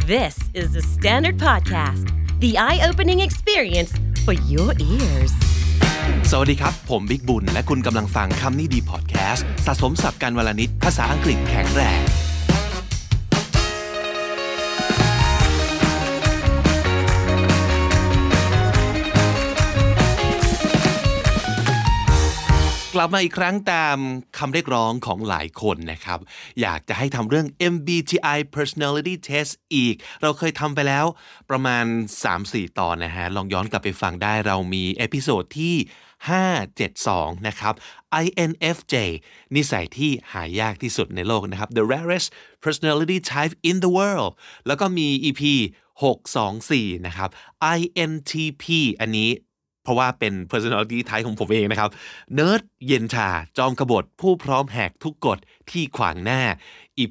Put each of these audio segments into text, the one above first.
This is the Standard Podcast, the eye-opening experience for your ears. สวัสดีครับผมบิ๊กบุญและคุณกำลังฟังคำนี้ดีพอดแคสต์สะสมศัพท์กันวลนิดภาษาอังกฤษแข็งแรงกลับมาอีกครั้งตามคำเรียกร้องของหลายคนนะครับอยากจะให้ทำเรื่อง MBTI Personality Test อีกเราเคยทำไปแล้วประมาณ 3-4 ตอนนะฮะลองย้อนกลับไปฟังได้เรามีเอพิโซดที่572นะครับ INFJ นิสัยที่หายากที่สุดในโลกนะครับ The rarest personality type in the world แล้วก็มี EP 624นะครับ INTP อันนี้เพราะว่าเป็น personality type ของผมเองนะครับเนิร์ดเย็นชาจอมกบฏผู้พร้อมแหกทุกกฎที่ขวางหน้า EP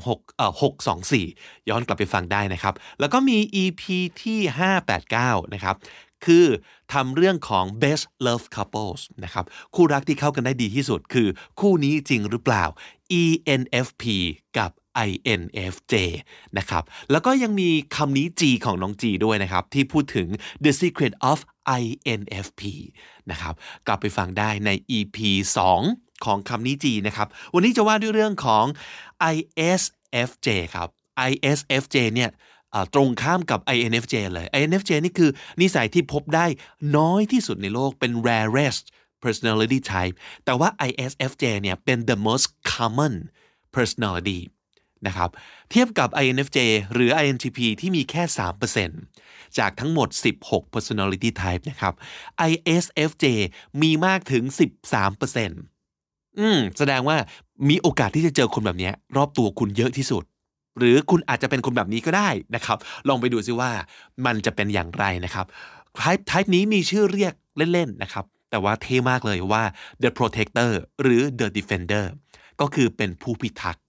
624ย้อนกลับไปฟังได้นะครับแล้วก็มี EP ที่589นะครับคือทำเรื่องของ best love couples นะครับคู่รักที่เข้ากันได้ดีที่สุดคือคู่นี้จริงหรือเปล่า ENFP กับINFJ นะครับแล้วก็ยังมีคำนี้ G ของน้อง G ด้วยนะครับที่พูดถึง The Secret of INFP นะครับกลับไปฟังได้ใน EP 2 ของคำนี้ G นะครับวันนี้จะว่าด้วยเรื่องของ ISFJ ครับ ISFJ เนี่ยตรงข้ามกับ INFJ เลย INFJ นี่คือนิสัยที่พบได้น้อยที่สุดในโลกเป็น rarest personality type แต่ว่า ISFJ เนี่ยเป็น the most common personality นะครับเทียบกับ INFJ หรือ INTP ที่มีแค่ 3% จากทั้งหมด16 personality type นะครับ ISFJ มีมากถึง 13%แสดงว่ามีโอกาสที่จะเจอคนแบบนี้รอบตัวคุณเยอะที่สุดหรือคุณอาจจะเป็นคนแบบนี้ก็ได้นะครับลองไปดูซิว่ามันจะเป็นอย่างไรนะครับ type นี้มีชื่อเรียกเล่นๆนะครับแต่ว่าเท่มากเลยว่า the protector หรือ the defender ก็คือเป็นผู้พิทักษ์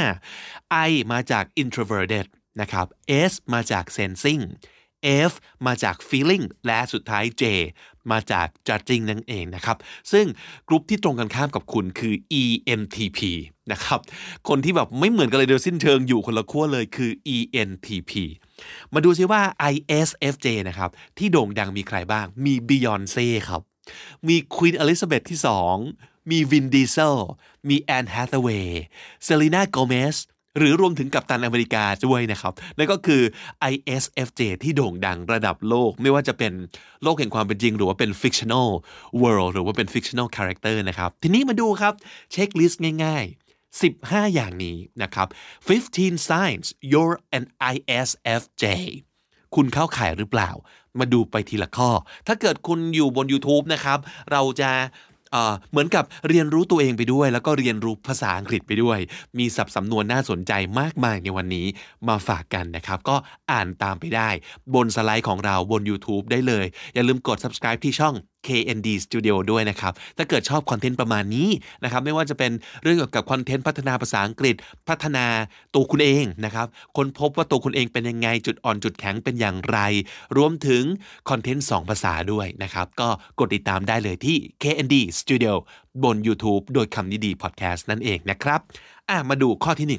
I มาจาก introverted นะครับ S มาจาก sensing F มาจาก feeling และสุดท้าย J มาจาก judging นั่นเองนะครับซึ่งกลุ่มที่ตรงกันข้ามกับคุณคือ ENTP นะครับคนที่แบบไม่เหมือนกันเลยโดยสิ้นเชิงอยู่คนละขั้วเลยคือ ENTP มาดูซิว่า ISFJ นะครับที่โด่งดังมีใครบ้างมี Beyoncé ครับมี Queen Elizabeth ที่ 2มีวินดีเซลมีแอนแฮทเวย์เซลีนาโกเมสหรือรวมถึงกัปตันอเมริกาด้วยนะครับนั่นก็คือ ISFJ ที่โด่งดังระดับโลกไม่ว่าจะเป็นโลกแห่งความเป็นจริงหรือว่าเป็น fictional world หรือว่าเป็น fictional character นะครับทีนี้มาดูครับเช็คลิสต์ง่ายๆ15อย่างนี้นะครับ15 signs you're an ISFJ คุณเข้าข่ายหรือเปล่ามาดูไปทีละข้อถ้าเกิดคุณอยู่บน YouTube นะครับเราจะเหมือนกับเรียนรู้ตัวเองไปด้วยแล้วก็เรียนรู้ภาษาอังกฤษไปด้วยมีศัพท์สำนวนน่าสนใจมากมายในวันนี้มาฝากกันนะครับก็อ่านตามไปได้บนสไลด์ของเราบน YouTube ได้เลยอย่าลืมกด subscribe ที่ช่อง KND Studio ด้วยนะครับถ้าเกิดชอบคอนเทนต์ประมาณนี้นะครับไม่ว่าจะเป็นเรื่องเกี่ยวกับคอนเทนต์พัฒนาภาษาอังกฤษพัฒนาตัวคุณเองนะครับค้นพบว่าตัวคุณเองเป็นยังไงจุดอ่อนจุดแข็งเป็นอย่างไรรวมถึงคอนเทนต์2ภาษาด้วยนะครับก็กดติดตามได้เลยที่ KND Studio บน YouTube โดยคำนี้ดี Podcast นั่นเองนะครับมาดูข้อที่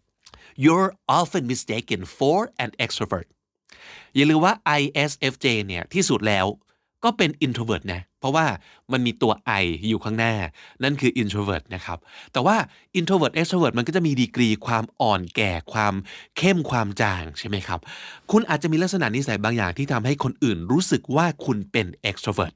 1 You're often mistaken for an extrovert อย่าลืมว่า ISFJ เนี่ยที่สุดแล้วก็เป็น introvert นะเพราะว่ามันมีตัว I อยู่ข้างหน้านั่นคือ introvert นะครับแต่ว่า introvert extrovert มันก็จะมีดีกรีความอ่อนแก่ความเข้มความจางใช่ไหมครับคุณอาจจะมีลักษณะนิสัยบางอย่างที่ทำให้คนอื่นรู้สึกว่าคุณเป็น extrovert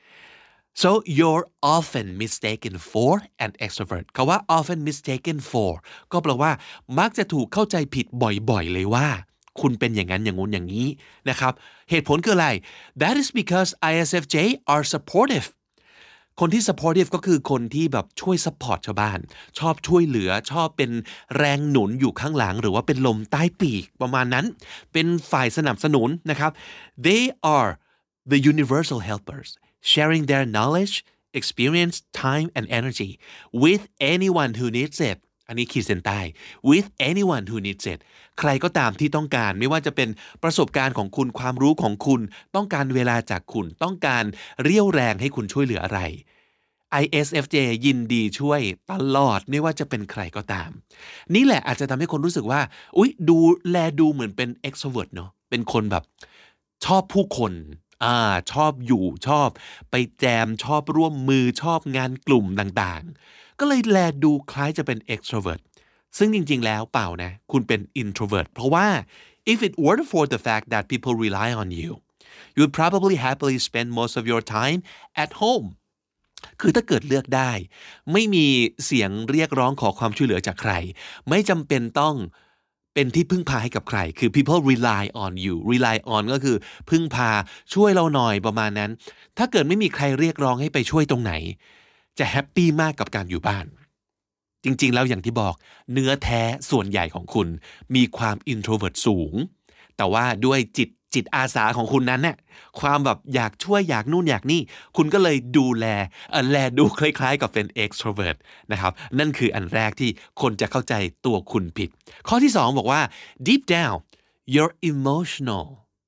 so you're often mistaken for an extrovert คำว่า often mistaken for ก็แปลว่ามักจะถูกเข้าใจผิดบ่อยๆเลยว่าคุณเป็นอย่างนั้นอย่างงู้นอย่างนี้นะครับเหตุผลคืออะไร That is because ISFJ are supportive คนที่ supportive ก็คือคนที่แบบช่วย support ชาวบ้านชอบช่วยเหลือชอบเป็นแรงหนุนอยู่ข้างหลังหรือว่าเป็นลมใต้ปีกประมาณนั้นเป็นฝ่ายสนับสนุนนะครับ They are the universal helpers sharing their knowledge experience time and energy with anyone who needs itอันนี้ขีดเส้นใต้ with anyone who needs it ใครก็ตามที่ต้องการไม่ว่าจะเป็นประสบการณ์ของคุณความรู้ของคุณต้องการเวลาจากคุณต้องการเรี่ยวแรงให้คุณช่วยเหลืออะไร ISFJ ยินดีช่วยตลอดไม่ว่าจะเป็นใครก็ตามนี่แหละอาจจะทำให้คนรู้สึกว่าอุ๊ยดูเหมือนเป็น extrovert เนาะเป็นคนแบบชอบผู้คนชอบอยู่ชอบไปแจมชอบร่วมมือชอบงานกลุ่มต่างๆก็เลยดูคล้ายจะเป็น extrovert ซึ่งจริงๆแล้วเปล่านะคุณเป็น introvert เพราะว่า if it weren't for the fact that people rely on you you would probably happily spend most of your time at home คือถ้าเกิดเลือกได้ไม่มีเสียงเรียกร้องขอความช่วยเหลือจากใครไม่จำเป็นต้องเป็นที่พึ่งพาให้กับใครคือ people rely on you rely on ก็คือพึ่งพาช่วยเราหน่อยประมาณนั้นถ้าเกิดไม่มีใครเรียกร้องให้ไปช่วยตรงไหนจะแฮปปี้มากกับการอยู่บ้านจริงๆแล้วอย่างที่บอกเนื้อแท้ส่วนใหญ่ของคุณมีความ introvert สูงแต่ว่าด้วยจิตอาสาของคุณนั้นเนี่ยความแบบอยากช่วยอยากนู่นอยากนี่คุณก็เลยดูคล้ายๆกับเป็น extrovert นะครับนั่นคืออันแรกที่คนจะเข้าใจตัวคุณผิดข้อที่2บอกว่า deep down you're emotional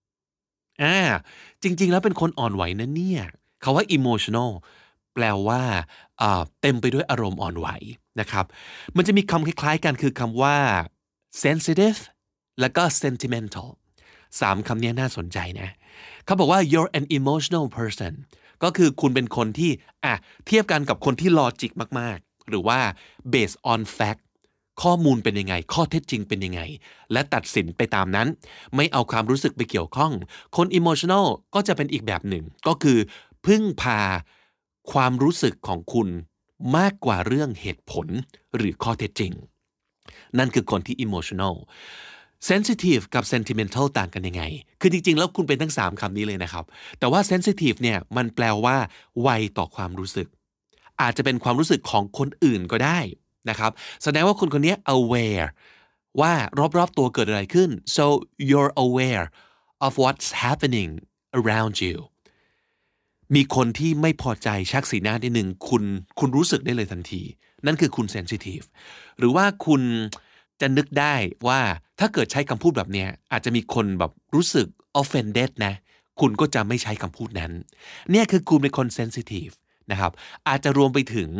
จริงๆแล้วเป็นคนอ่อนไหวนะเนี่ยคำว่า emotional แปลว่าเต็มไปด้วยอารมณ์อ่อนไหวนะครับมันจะมีคำคล้ายๆกันคือคำว่า sensitive แล้วก็ sentimental 3 คำนี้น่าสนใจนะเขาบอกว่า you're an emotional person ก็คือคุณเป็นคนที่เทียบกันกับคนที่ลอจิกมากๆหรือว่า based on fact ข้อมูลเป็นยังไงข้อเท็จจริงเป็นยังไงและตัดสินไปตามนั้นไม่เอาความรู้สึกไปเกี่ยวข้องคน emotional ก็จะเป็นอีกแบบหนึ่งก็คือพึ่งพาความรู้สึกของคุณมากกว่าเรื่องเหตุผลหรือข้อเท็จจริงนั่นคือคนที่ emotional sensitive กับ sentimental ต่างกันยังไงคือจริงๆแล้วคุณเป็นทั้ง3คำนี้เลยนะครับแต่ว่า sensitive เนี่ยมันแปลว่าไวต่อความรู้สึกอาจจะเป็นความรู้สึกของคนอื่นก็ได้นะครับแสดงว่าคนคนนี้ aware ว่ารอบๆตัวเกิดอะไรขึ้น so you're aware of what's happening around you มีคนที่ไม่พอใจชักสีหน้านิดนึงคุณรู้สึกได้เลยทันทีนั่นคือคุณ sensitive หรือว่าคุณจะนึกได้ว่าถ้าเกิดใช้คำพูดแบบนี้อาจจะมีคนแบบรู้สึก offended นะคุณก็จะไม่ใช้คำพูดนั้นเนี่ยคือคุณเป็นคน sensitive นะครับอาจจะรวมไปถึง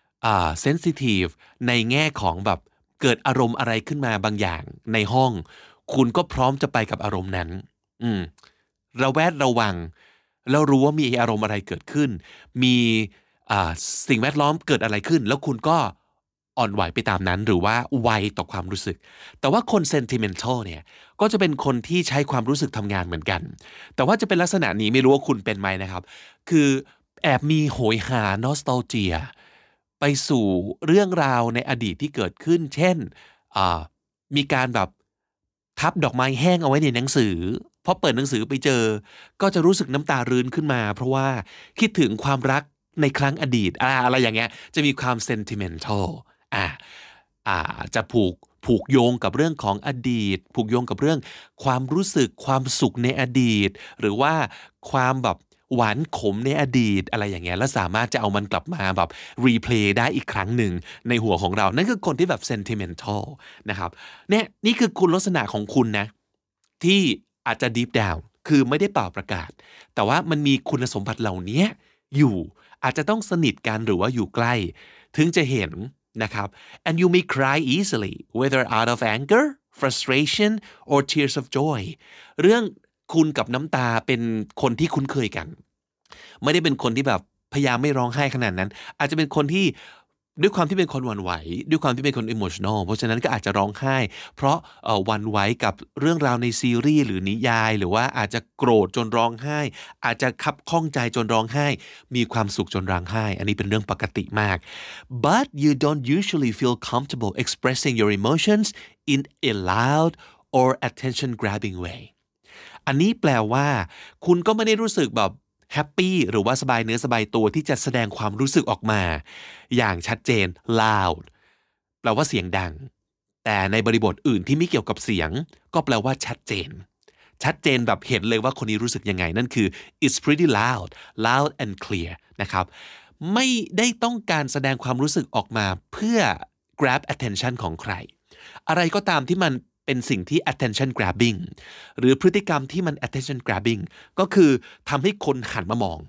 sensitive ในแง่ของแบบเกิดอารมณ์อะไรขึ้นมาบางอย่างในห้องคุณก็พร้อมจะไปกับอารมณ์นั้นระแวดระวังแล้วรู้ว่ามีอารมณ์อะไรเกิดขึ้นมีสิ่งแวดล้อมเกิดอะไรขึ้นแล้วคุณก็อ่อนไหวไปตามนั้นหรือว่าไวต่อความรู้สึกแต่ว่าคน sentimental เนี่ยก็จะเป็นคนที่ใช้ความรู้สึกทำงานเหมือนกันแต่ว่าจะเป็นลักษณะนี้ไม่รู้ว่าคุณเป็นไหมนะครับคือแอบมีโหยหา nostalgia ไปสู่เรื่องราวในอดีตที่เกิดขึ้นเช่นมีการแบบทับดอกไม้แห้งเอาไว้ในหนังสือพอเปิดหนังสือไปเจอก็จะรู้สึกน้ำตารื้นขึ้นมาเพราะว่าคิดถึงความรักในครั้งอดีตอะไรอย่างเงี้ยจะมีความ sentimental จะผูกโยงกับเรื่องของอดีตผูกโยงกับเรื่องความรู้สึกความสุขในอดีตหรือว่าความแบบหวานขมในอดีตอะไรอย่างเงี้ยแล้วสามารถจะเอามันกลับมาแบบรีเพลย์ได้อีกครั้งหนึ่งในหัวของเรานั่นคือคนที่แบบ sentimental นะครับนี่คือคุณลักษณะของคุณนะที่อาจจะ deep down คือไม่ได้เป่าประกาศแต่ว่ามันมีคุณสมบัติเหล่านี้อยู่อาจจะต้องสนิทกันหรือว่าอยู่ใกล้ถึงจะเห็นนะครับ and you may cry easily whether out of anger frustration or tears of joy เรื่องคุณกับน้ำตาเป็นคนที่คุ้นเคยกันไม่ได้เป็นคนที่แบบพยายามไม่ร้องไห้ขนาดนั้นอาจจะเป็นคนที่ด้วยความที่เป็นคนหวั่นไหวด้วยความที่เป็นคน emotional เพราะฉะนั้นก็อาจจะร้องไห้เพราะหวั่นไหวกับเรื่องราวในซีรีส์หรือนิยายหรือว่าอาจจะโกรธจนร้องไห้อาจจะคับข้องใจจนร้องไห้มีความสุขจนร้องไห้อันนี้เป็นเรื่องปกติมาก but you don't usually feel comfortable expressing your emotions in a loud or attention grabbing way อันนี้แปลว่าคุณก็ไม่ได้รู้สึกแบบแฮปปี้หรือว่าสบายเนื้อสบายตัวที่จะแสดงความรู้สึกออกมาอย่างชัดเจน loud แปลว่าเสียงดังแต่ในบริบทอื่นที่ไม่เกี่ยวกับเสียงก็แปลว่าชัดเจนแบบเห็นเลยว่าคนนี้รู้สึกยังไงนั่นคือ it's pretty loud and clear นะครับไม่ได้ต้องการแสดงความรู้สึกออกมาเพื่อ grab attention ของใครอะไรก็ตามที่มันเป็นสิ่งที่ attention grabbing หรือพฤติกรรมที่มัน attention grabbing ก็คือทำให้คนหันมามอง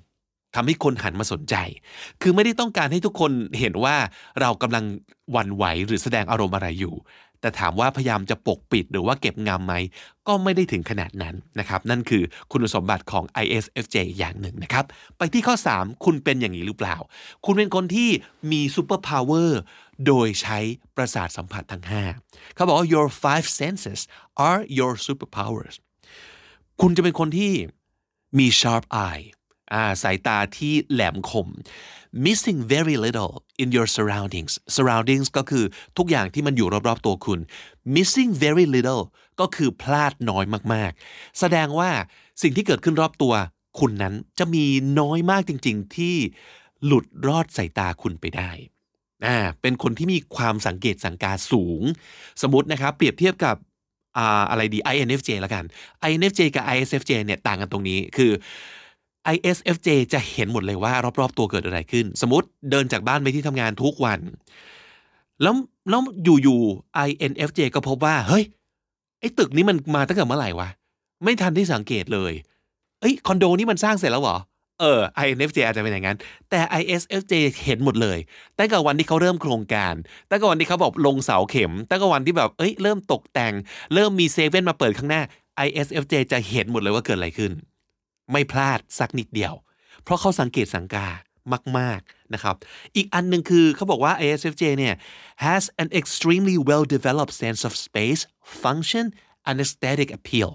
ทำให้คนหันมาสนใจคือไม่ได้ต้องการให้ทุกคนเห็นว่าเรากำลังหวั่นไหวหรือแสดงอารมณ์อะไรอยู่แต่ถามว่าพยายามจะปกปิดหรือว่าเก็บงำไหมก็ไม่ได้ถึงขนาดนั้นนะครับนั่นคือคุณสมบัติของ ISFJ อย่างหนึ่งนะครับไปที่ข้อ3คุณเป็นอย่างนี้หรือเปล่าคุณเป็นคนที่มีซูเปอร์พาวเวอร์โดยใช้ประสาทสัมผัสทั้ง5เขาบอกว่า your 5 senses are your superpowers คุณจะเป็นคนที่มี sharp eye สายตาที่แหลมคม missing very little in your surroundings ก็คือทุกอย่างที่มันอยู่รอบๆตัวคุณ missing very little ก็คือพลาดน้อยมากๆแสดงว่าสิ่งที่เกิดขึ้นรอบตัวคุณนั้นจะมีน้อยมากจริงๆที่หลุดรอดสายตาคุณไปได้เป็นคนที่มีความสังเกตสังกาสูงสมมตินะครับเปรียบเทียบกับอะไรดี INFJ ละกัน INFJ กับ ISFJ เนี่ยต่างกันตรงนี้คือ ISFJ จะเห็นหมดเลยว่ารอบๆตัวเกิดอะไรขึ้นสมมติเดินจากบ้านไปที่ทำงานทุกวันแล้วอยู่ๆ INFJ ก็พบว่าเฮ้ยไอ้ตึกนี้มันมาตั้งแต่เมื่อไหร่วะไม่ทันที่สังเกตเลยคอนโดนี้มันสร้างเสร็จแล้วเหรอINFJ อาจจะเป็นอย่างนั้นแต่ ISFJ เห็นหมดเลยตั้งแต่วันที่เขาเริ่มโครงการตั้งแต่วันที่เขาบอกลงเสาเข็มตั้งแต่วันที่แบบเริ่มตกแต่งเริ่มมีเซเว่นมาเปิดข้างหน้า ISFJ จะเห็นหมดเลยว่าเกิดอะไรขึ้นไม่พลาดสักนิดเดียวเพราะเขาสังเกตสังกามากๆนะครับอีกอันนึงคือเขาบอกว่า ISFJ เนี่ย has an extremely well developed sense of space function and aesthetic appeal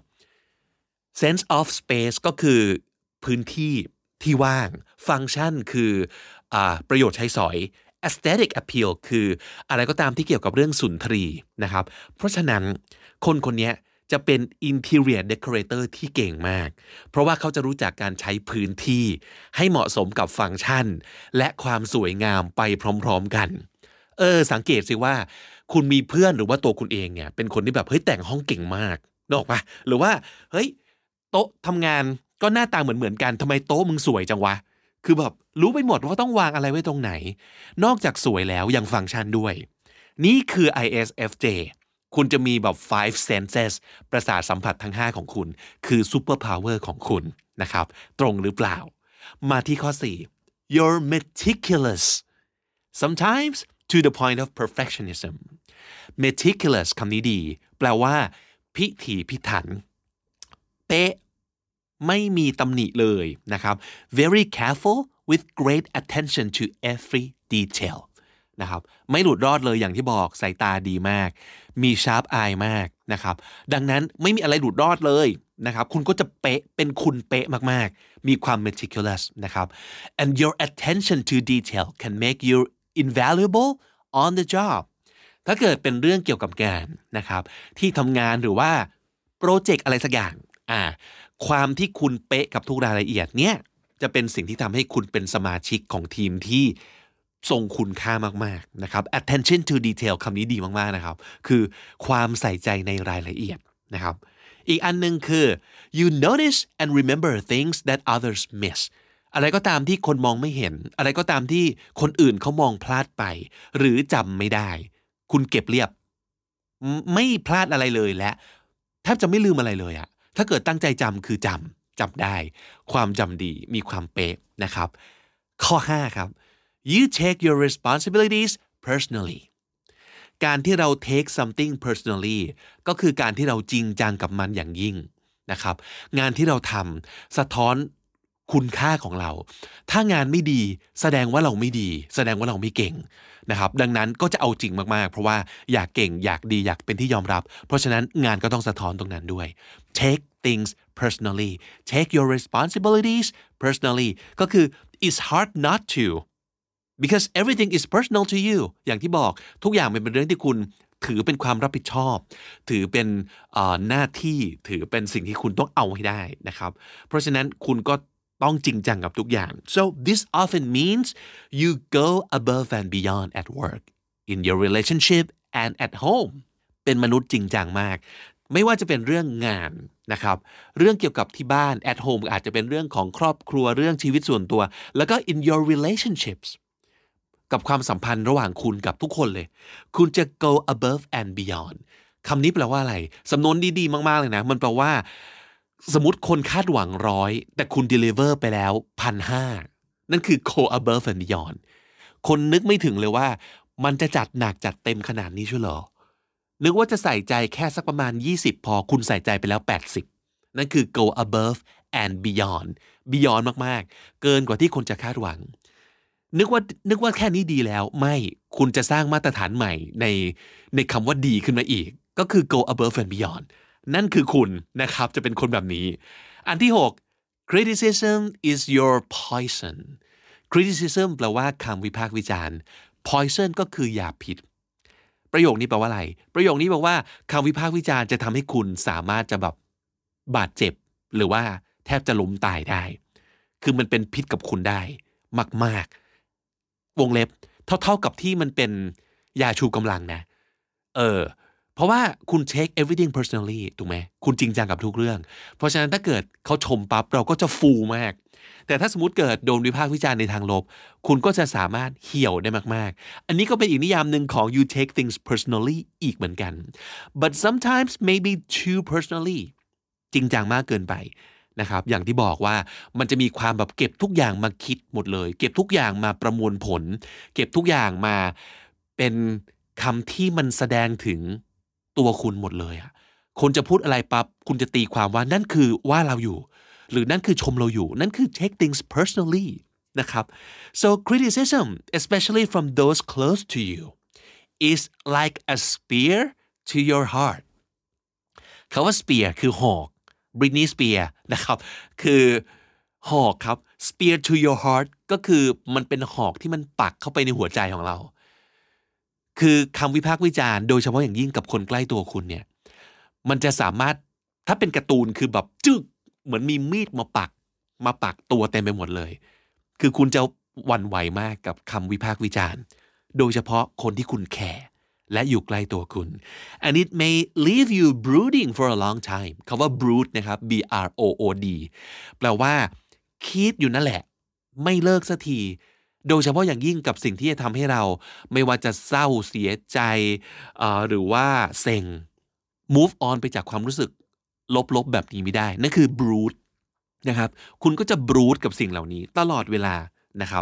sense of space ก็คือพื้นที่ที่ว่างฟังก์ชันคือประโยชน์ใช้สอย aesthetic appeal คืออะไรก็ตามที่เกี่ยวกับเรื่องสุนทรีนะครับเพราะฉะนั้นคนนี้จะเป็น interior decorator ที่เก่งมากเพราะว่าเขาจะรู้จักการใช้พื้นที่ให้เหมาะสมกับฟังก์ชันและความสวยงามไปพร้อมๆกันสังเกตสิว่าคุณมีเพื่อนหรือว่าตัวคุณเองเนี่ยเป็นคนที่แบบแต่งห้องเก่งมากนึกออกปะหรือว่าโต๊ะทำงานก็หน้าตาเหมือนกันทำไมโต๊ะมึงสวยจังวะคือแบบรู้ไปหมดว่าต้องวางอะไรไว้ตรงไหนนอกจากสวยแล้วยังฟังก์ชันด้วยนี่คือ ISFJ คุณจะมีแบบ5 senses ประสาทสัมผัสทั้ง5ของคุณคือ super power ของคุณนะครับตรงหรือเปล่ามาที่ข้อ4 you're meticulous sometimes to the point of perfectionism meticulous คำนี้ดีแปลว่าพิถีพิถันเป๊ะไม่มีตำหนิเลยนะครับ very careful with great attention to every detail นะครับไม่หลุดรอดเลยอย่างที่บอกสายตาดีมากมี sharp eye มากนะครับดังนั้นไม่มีอะไรหลุดรอดเลยนะครับคุณก็จะเป๊ะเป็นคุณเป๊ะมากๆมีความ meticulous นะครับ and your attention to detail can make you invaluable on the job ถ้าเกิดเป็นเรื่องเกี่ยวกับงานนะครับที่ทำงานหรือว่าโปรเจกต์อะไรสักอย่างความที่คุณเป๊ะกับทุกรายละเอียดเนี่ยจะเป็นสิ่งที่ทำให้คุณเป็นสมาชิกของทีมที่ทรงคุณค่ามากๆนะครับ attention to detail คำนี้ดีมากๆนะครับคือความใส่ใจในรายละเอียดนะครับอีกอันนึงคือ you notice and remember things that others miss อะไรก็ตามที่คนมองไม่เห็นอะไรก็ตามที่คนอื่นเขามองพลาดไปหรือจำไม่ได้คุณเก็บเรียบไม่พลาดอะไรเลยและแทบจะไม่ลืมอะไรเลยอะถ้าเกิดตั้งใจจำคือจำได้ความจำดีมีความเป๊ะนะครับข้อ5ครับ you take your responsibilities personally การที่เรา take something personally ก็คือการที่เราจริงจังกับมันอย่างยิ่งนะครับงานที่เราทำสะท้อนคุณค่าของเราถ้างานไม่ดีแสดงว่าเราไม่ดีแสดงว่าเราไม่เก่งนะครับดังนั้นก็จะเอาจริงมากๆเพราะว่าอยากเก่งอยากดีอยากเป็นที่ยอมรับเพราะฉะนั้นงานก็ต้องสะท้อนตรงนั้นด้วย take things personally take your responsibilities personally ก็คือ it's hard not to because everything is personal to you อย่างที่บอกทุกอย่างมันเป็นเรื่องที่คุณถือเป็นความรับผิดชอบถือเป็นหน้าที่ถือเป็นสิ่งที่คุณต้องเอาให้ได้นะครับเพราะฉะนั้นคุณก็ต้องจริงจังกับทุกอย่าง so this often means you go above and beyond at work in your relationship and at home เป็นมนุษย์จริงจังมากไม่ว่าจะเป็นเรื่องงานนะครับเรื่องเกี่ยวกับที่บ้าน at home อาจจะเป็นเรื่องของครอบครัวเรื่องชีวิตส่วนตัวแล้วก็ in your relationships กับความสัมพันธ์ระหว่างคุณกับทุกคนเลยคุณจะ go above and beyond คำนี้แปลว่าอะไรสำนวนดีๆมากๆเลยนะมันแปลว่าสมมติคนคาดหวัง100แต่คุณ deliver ไปแล้ว 1,500 นั่นคือ go above and beyond คนนึกไม่ถึงเลยว่ามันจะจัดหนักจัดเต็มขนาดนี้ใช่เหรอนึกว่าจะใส่ใจแค่สักประมาณ20พอคุณใส่ใจไปแล้ว80นั่นคือ go above and beyond มากๆเกินกว่าที่คนจะคาดหวังนึกว่าแค่นี้ดีแล้วไม่คุณจะสร้างมาตรฐานใหม่ในคำว่าดีขึ้นมาอีกก็คือ go above and beyond นั่นคือคุณนะครับจะเป็นคนแบบนี้อันที่6 criticism is your poison criticism แปลว่าคำวิพากษ์วิจารณ์ poison ก็คือยาพิษประโยคนี้แปลว่าอะไรประโยคนี้แปลว่าคำวิพากษ์วิจารณ์จะทำให้คุณสามารถจะแบบบาดเจ็บหรือว่าแทบจะล้มตายได้คือมันเป็นพิษกับคุณได้มากๆวงเล็บเท่ากับที่มันเป็นยาชูกำลังนะเพราะว่าคุณ take everything personally ถูกไหมคุณจริงจังกับทุกเรื่องเพราะฉะนั้นถ้าเกิดเขาชมปั๊บเราก็จะฟูมากแต่ถ้าสมมติเกิดโดนวิพากษ์วิจารณ์ในทางลบคุณก็จะสามารถเหี่ยวได้มากๆอันนี้ก็เป็นอีกนิยามหนึ่งของ you take things personally อีกเหมือนกัน but sometimes maybe too personally จริงจังมากเกินไปนะครับอย่างที่บอกว่ามันจะมีความแบบเก็บทุกอย่างมาคิดหมดเลยเก็บทุกอย่างมาประมวลผลเก็บทุกอย่างมาเป็นคำที่มันแสดงถึงตัวคุณหมดเลยอะคนจะพูดอะไรปั๊บคุณจะตีความว่านั่นคือว่าเราอยู่หรือนั่นคือชมเราอยู่นั่นคือ take things personally นะครับ so criticism especially from those close to you is like a spear to your heart คำว่า spear คือหอกBritney Spears นะครับคือหอกครับ spear to your heart ก็คือมันเป็นหอกที่มันปักเข้าไปในหัวใจของเราคือคำวิพากษ์วิจารณ์โดยเฉพาะอย่างยิ่งกับคนใกล้ตัวคุณเนี่ยมันจะสามารถถ้าเป็นการ์ตูนคือแบบจึ๊กเหมือนมีมีดมาปักตัวเต็มไปหมดเลยคือคุณจะหวั่นไหวมากกับคำวิพากษ์วิจารณ์โดยเฉพาะคนที่คุณแคร์และอยู่ใกล้ตัวคุณ and it may leave you brooding for a long time คำว่า brood นะครับ B R O O D แปลว่าคิดอยู่นั่นแหละไม่เลิกสักทีโดยเฉพาะอย่างยิ่งกับสิ่งที่จะทำให้เราไม่ว่าจะเศร้าเสียใจหรือว่าเซ็ง move on ไปจากความรู้สึกลบๆแบบนี้ไม่ได้นั่นคือ brood นะครับคุณก็จะ brood กับสิ่งเหล่านี้ตลอดเวลานะครับ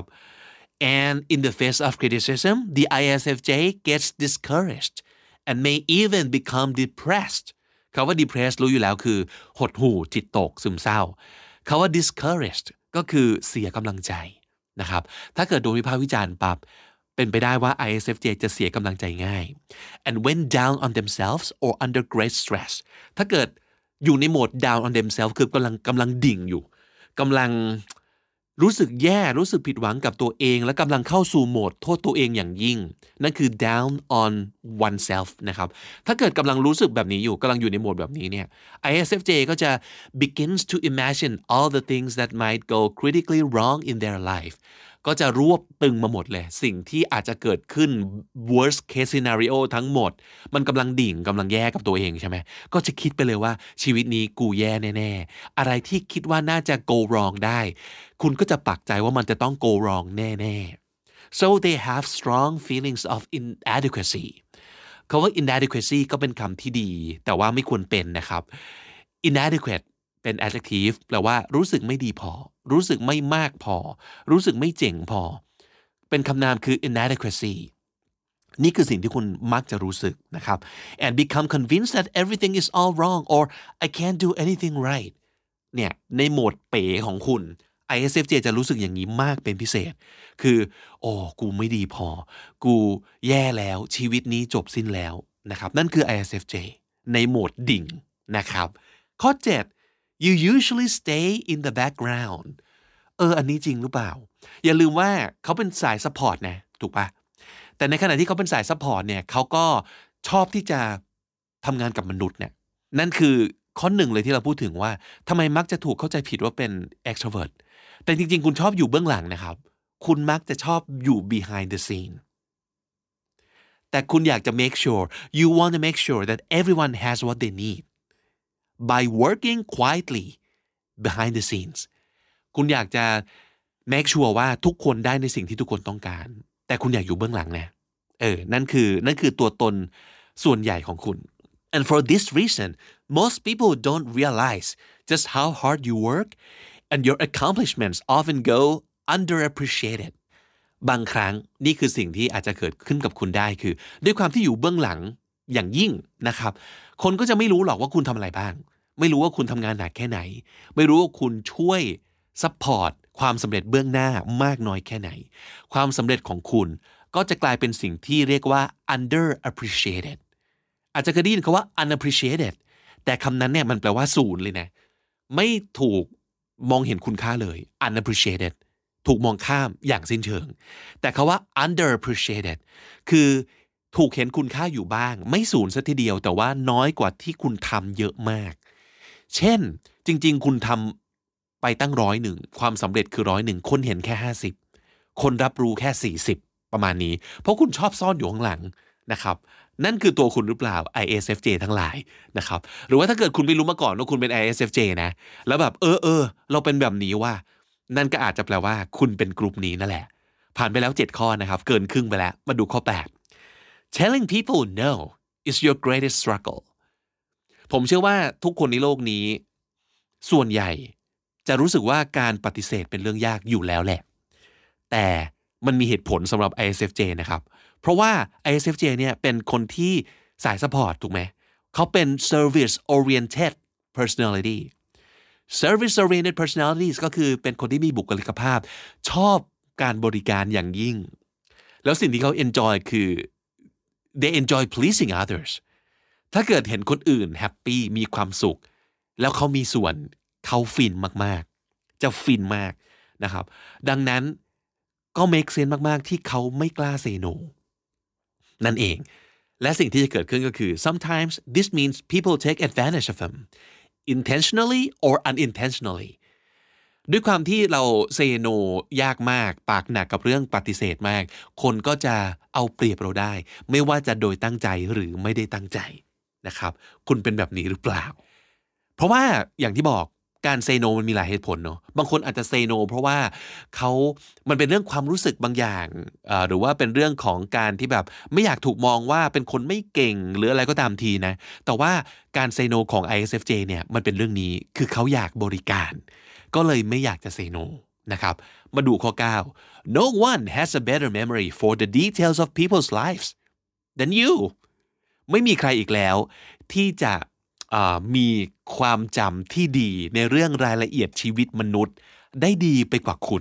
and in the face of criticism the ISFJ gets discouraged and may even become depressed คำว่า depressed รู้อยู่แล้วคือหดหู่จิตตกซึมเศร้าคำว่า discouraged ก็คือเสียกำลังใจนะครับถ้าเกิดโดนวิพากษ์วิจารณ์ปั๊บเป็นไปได้ว่า ISFJ จะเสียกำลังใจง่าย and when down on themselves or under great stress ถ้าเกิดอยู่ในโหมด down on themselves คือกำลังดิ่งอยู่กำลังรู้สึกแย่รู้สึกผิดหวังกับตัวเองและกำลังเข้าสู่โหมดโทษตัวเองอย่างยิ่งนั่นคือ down on oneself นะครับถ้าเกิดกำลังรู้สึกแบบนี้อยู่กำลังอยู่ในโหมดแบบนี้เนี่ย ISFJ ก็จะ begins to imagine all the things that might go critically wrong in their life ก็จะรวบตึงมาหมดเลยสิ่งที่อาจจะเกิดขึ้น worst case scenario ทั้งหมดมันกำลังดิ่งกำลังแย่กับตัวเองใช่ไหมก็จะคิดไปเลยว่าชีวิตนี้กูแย่แน่ๆอะไรที่คิดว่าน่าจะ go wrong ได้คุณก็จะปักใจว่ามันจะต้อง go wrong แน่ๆ so they have strong feelings of inadequacy คำว่า inadequacy ก็เป็นคำที่ดีแต่ว่าไม่ควรเป็นนะครับ inadequate เป็น adjective แปลว่ารู้สึกไม่ดีพอรู้สึกไม่มากพอรู้สึกไม่เจ๋งพอเป็นคำนามคือ inadequacy นี่คือสิ่งที่คุณมักจะรู้สึกนะครับ and become convinced that everything is all wrong or I can't do anything right เนี่ยในโหมดเป๋ของคุณ ISFJ จะรู้สึกอย่างนี้มากเป็นพิเศษคือโอ้กูไม่ดีพอกูแย่แล้วชีวิตนี้จบสิ้นแล้วนะครับนั่นคือ ISFJ ในโหมดดิ่งนะครับข้อ7 you usually stay in the background อันนี้จริงหรือเปล่าอย่าลืมว่าเขาเป็นสายซัพพอร์ตนะถูกปะแต่ในขณะที่เขาเป็นสายซัพพอร์ตเนี่ยเขาก็ชอบที่จะทำงานกับมนุษย์เนี่ยนั่นคือข้อหนึ่งเลยที่เราพูดถึงว่าทำไมมักจะถูกเข้าใจผิดว่าเป็น extrovert แต่จริงๆคุณชอบอยู่เบื้องหลังนะครับคุณมักจะชอบอยู่ behind the scene แต่คุณอยากจะ make sure you want to make sure that everyone has what they need by working quietly behind the scenes คุณอยากจะ make sure ว่าทุกคนได้ในสิ่งที่ทุกคนต้องการแต่คุณอยากอยู่เบื้องหลังนะนั่นคือตัวตนส่วนใหญ่ของคุณ and for this reason most people don't realize just how hard you work and your accomplishments often go underappreciated บางครั้งนี่คือสิ่งที่อาจจะเกิดขึ้นกับคุณได้คือด้วยความที่อยู่เบื้องหลังอย่างยิ่งนะครับคนก็จะไม่รู้หรอกว่าคุณทำอะไรบ้างไม่รู้ว่าคุณทำงานหนักแค่ไหนไม่รู้ว่าคุณช่วยซัพพอร์ตความสำเร็จเบื้องหน้ามากน้อยแค่ไหนความสำเร็จของคุณก็จะกลายเป็นสิ่งที่เรียกว่า underappreciated อาจจะเคยได้ยินคำว่า unappreciated แต่คำนั้นเนี่ยมันแปลว่าศูนย์เลยนะไม่ถูกมองเห็นคุณค่าเลย unappreciated ถูกมองข้ามอย่างสิ้นเชิงแต่คำว่า underappreciated คือถูกเห็นคุณค่าอยู่บ้างไม่ศูนย์ซะทีเดียวแต่ว่าน้อยกว่าที่คุณทำเยอะมากเช่นจริงๆคุณทำไปตั้ง100ความสำเร็จคือ100คนเห็นแค่50คนรับรู้แค่40ประมาณนี้เพราะคุณชอบซ่อนอยู่ข้างหลังนะครับนั่นคือตัวคุณหรือเปล่า ISFJ ทั้งหลายนะครับหรือว่าถ้าเกิดคุณไม่รู้มาก่อนว่าคุณเป็น ISFJ นะแล้วแบบเราเป็นแบบนี้ว่านั่นก็อาจจะแปลว่าคุณเป็นกลุ่มนี้นั่นแหละผ่านไปแล้ว7ข้อนะครับเกินครึ่งไปแล้วมาดูข้อ8 Telling people no is your greatest struggle ผมเชื่อว่าทุกคนในโลกนี้ส่วนใหญ่จะรู้สึกว่าการปฏิเสธเป็นเรื่องยากอยู่แล้วแหละแต่มันมีเหตุผลสำหรับ ISFJ นะครับเพราะว่า ISFJ เนี่ยเป็นคนที่สายซัพพอร์ตถูกไหมเขาเป็น service oriented personality service oriented personalities ก็คือเป็นคนที่มีบุคลิกภาพชอบการบริการอย่างยิ่งแล้วสิ่งที่เขา enjoy คือ they enjoy pleasing others ถ้าเกิดเห็นคนอื่นแฮปปี้มีความสุขแล้วเขามีส่วนเขาฟินมากๆจะฟินมากนะครับดังนั้นก็ make sense มากๆที่เขาไม่กล้า say no นั่นเองและสิ่งที่จะเกิดขึ้นก็คือ sometimes this means people take advantage of them intentionally or unintentionally ด้วยความที่เรา say no ยากมากปากหนักกับเรื่องปฏิเสธมากคนก็จะเอาเปรียบเราได้ไม่ว่าจะโดยตั้งใจหรือไม่ได้ตั้งใจนะครับคุณเป็นแบบนี้หรือเปล่าเพราะว่าอย่างที่บอกการ say no มันมีหลายเหตุผลเนาะบางคนอาจจะ say no เพราะว่ามันเป็นเรื่องความรู้สึกบางอย่างหรือว่าเป็นเรื่องของการที่แบบไม่อยากถูกมองว่าเป็นคนไม่เก่งหรืออะไรก็ตามทีนะแต่ว่าการ say no ของ ISFJ เนี่ยมันเป็นเรื่องนี้คือเขาอยากบริการก็เลยไม่อยากจะ say no นะครับมาดูข้อ9 No one has a better memory for the details of people's lives than you ไม่มีใครอีกแล้วที่จะมีความจำที่ดีในเรื่องรายละเอียดชีวิตมนุษย์ได้ดีไปกว่าคุณ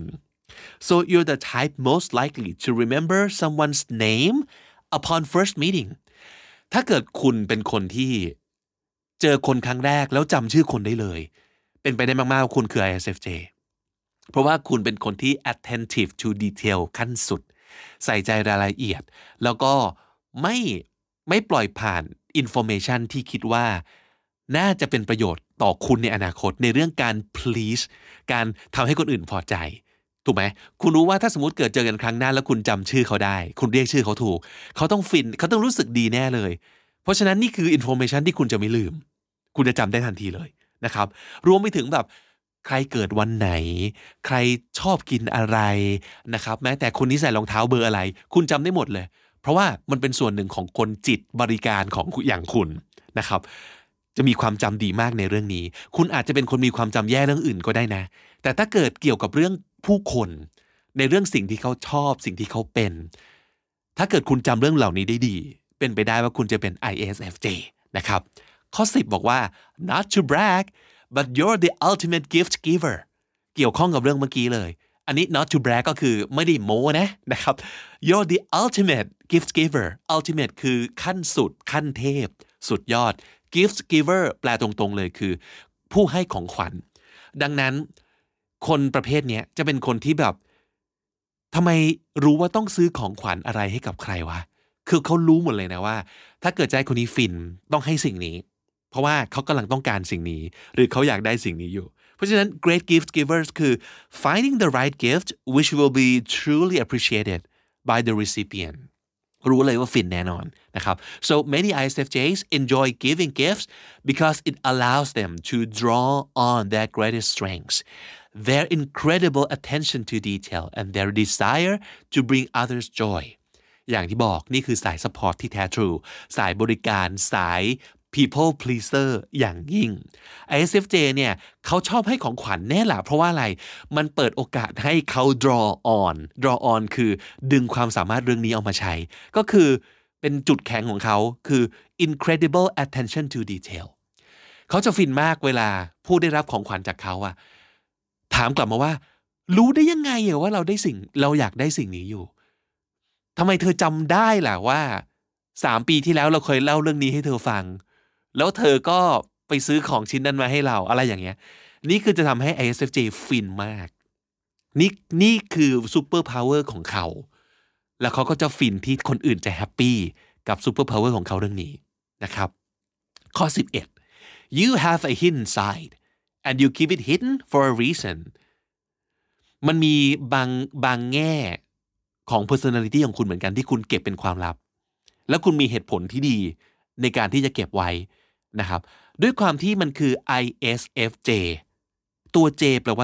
so you're the type most likely to remember someone's name upon first meeting ถ้าเกิดคุณเป็นคนที่เจอคนครั้งแรกแล้วจำชื่อคนได้เลยเป็นไปได้มากๆว่าคุณคือ ISFJ เพราะว่าคุณเป็นคนที่ attentive to detail ขั้นสุดใส่ใจรายละเอียดแล้วก็ไม่ปล่อยผ่าน information ที่คิดว่าน่าจะเป็นประโยชน์ต่อคุณในอนาคตในเรื่องการ please การทำให้คนอื่นพอใจถูกไหมคุณรู้ว่าถ้าสมมติเกิดเจอกันครั้งหน้าแล้วคุณจำชื่อเขาได้คุณเรียกชื่อเขาถูกเขาต้องฟินเขาต้องรู้สึกดีแน่เลยเพราะฉะนั้นนี่คือ information ที่คุณจะไม่ลืมคุณจะจำได้ทันทีเลยนะครับรวมไปถึงแบบใครเกิดวันไหนใครชอบกินอะไรนะครับแม้แต่คนนี้ใส่รองเท้าเบอร์อะไรคุณจำได้หมดเลยเพราะว่ามันเป็นส่วนหนึ่งของคนจิตบริการของอย่างคุณนะครับจะมีความจำดีมากในเรื่องนี้คุณอาจจะเป็นคนมีความจำแย่เรื่องอื่นก็ได้นะแต่ถ้าเกิดเกี่ยวกับเรื่องผู้คนในเรื่องสิ่งที่เขาชอบสิ่งที่เขาเป็นถ้าเกิดคุณจำเรื่องเหล่านี้ได้ดีเป็นไปได้ว่าคุณจะเป็น ISFJ นะครับข้อ10บอกว่า not to brag but you're the ultimate gift giver เกี่ยวข้องกับเรื่องเมื่อกี้เลยอันนี้ not to brag ก็คือไม่ได้โม้นะครับ you're the ultimate gift giver ultimate คือขั้นสุดขั้นเทพสุดยอดgift giver แปลตรงๆเลยคือผู้ให้ของขวัญดังนั้นคนประเภทนี้จะเป็นคนที่แบบทำไมรู้ว่าต้องซื้อของขวัญอะไรให้กับใครวะคือเขารู้หมดเลยนะว่าถ้าเกิดใจคนนี้ฟินต้องให้สิ่งนี้เพราะว่าเขากำลังต้องการสิ่งนี้หรือเขาอยากได้สิ่งนี้อยู่เพราะฉะนั้น great gift givers คือ finding the right gift which will be truly appreciated by the recipientรู้เลยว่าฟินแน่นอนนะครับ so many ISFJs enjoy giving gifts because it allows them to draw on their greatest strengths their incredible attention to detail and their desire to bring others joy อย่างที่บอกนี่คือสาย support ที่แท้ทรูสายบริการสาย people pleaser อย่างยิ่ง ISFJ เนี่ยเขาชอบให้ของขวัญแน่ล่ะเพราะว่าอะไรมันเปิดโอกาสให้เขา draw on คือดึงความสามารถเรื่องนี้เอามาใช้ก็คือเป็นจุดแข็งของเขาคือ incredible attention to detail เขาจะฟินมากเวลาผู้ได้รับของขวัญจากเขาอะถามกลับมาว่ารู้ได้ยังไงว่าเราอยากได้สิ่งนี้อยู่ทำไมเธอจำได้ล่ะว่า3 ปีที่แล้วเราเคยเล่าเรื่องนี้ให้เธอฟังแล้วเธอก็ไปซื้อของชิ้นนั้นมาให้เราอะไรอย่างเงี้ยนี่คือจะทำให้ ISFJ ฟินมากนี่คือซูเปอร์พาวเวอร์ของเขาแล้วเขาก็จะฟินที่คนอื่นจะแฮปปี้กับซูเปอร์พาวเวอร์ของเขาเรื่องนี้นะครับข้อ11 you have a hidden side and you keep it hidden for a reason มันมีบางแง่ของ personality ของคุณเหมือนกันที่คุณเก็บเป็นความลับแล้วคุณมีเหตุผลที่ดีในการที่จะเก็บไว้นะครับด้วยความที่มันคือ ISFJ ตัว J แปลว่า